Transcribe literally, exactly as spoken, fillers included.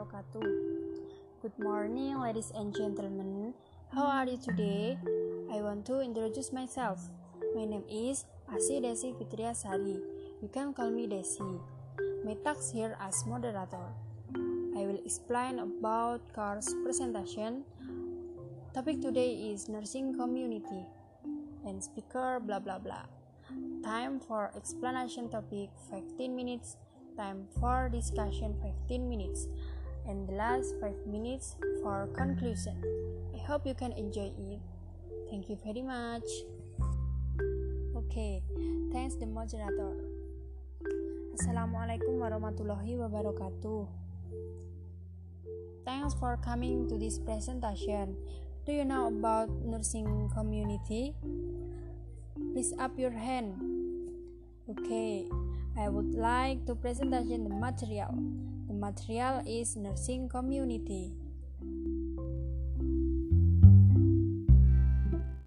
wabarakatuh. Good morning, ladies and gentlemen. How are you today? I want to introduce myself. My name is Asih Desi Fitriasari. You can call me Desi. My task here as moderator. I will explain about course presentation. Topic today is nursing community and speaker blah blah blah. Time for explanation topic fifteen minutes. Time for discussion fifteen minutes. And the last five minutes for conclusion. I hope you can enjoy it. Thank you very much. Okay, thanks the moderator. Assalamualaikum warahmatullahi wabarakatuh. Thanks for coming to this presentation. Do you know about nursing community? Please up your hand. Okay, I would like to presentation the material. The material is nursing community.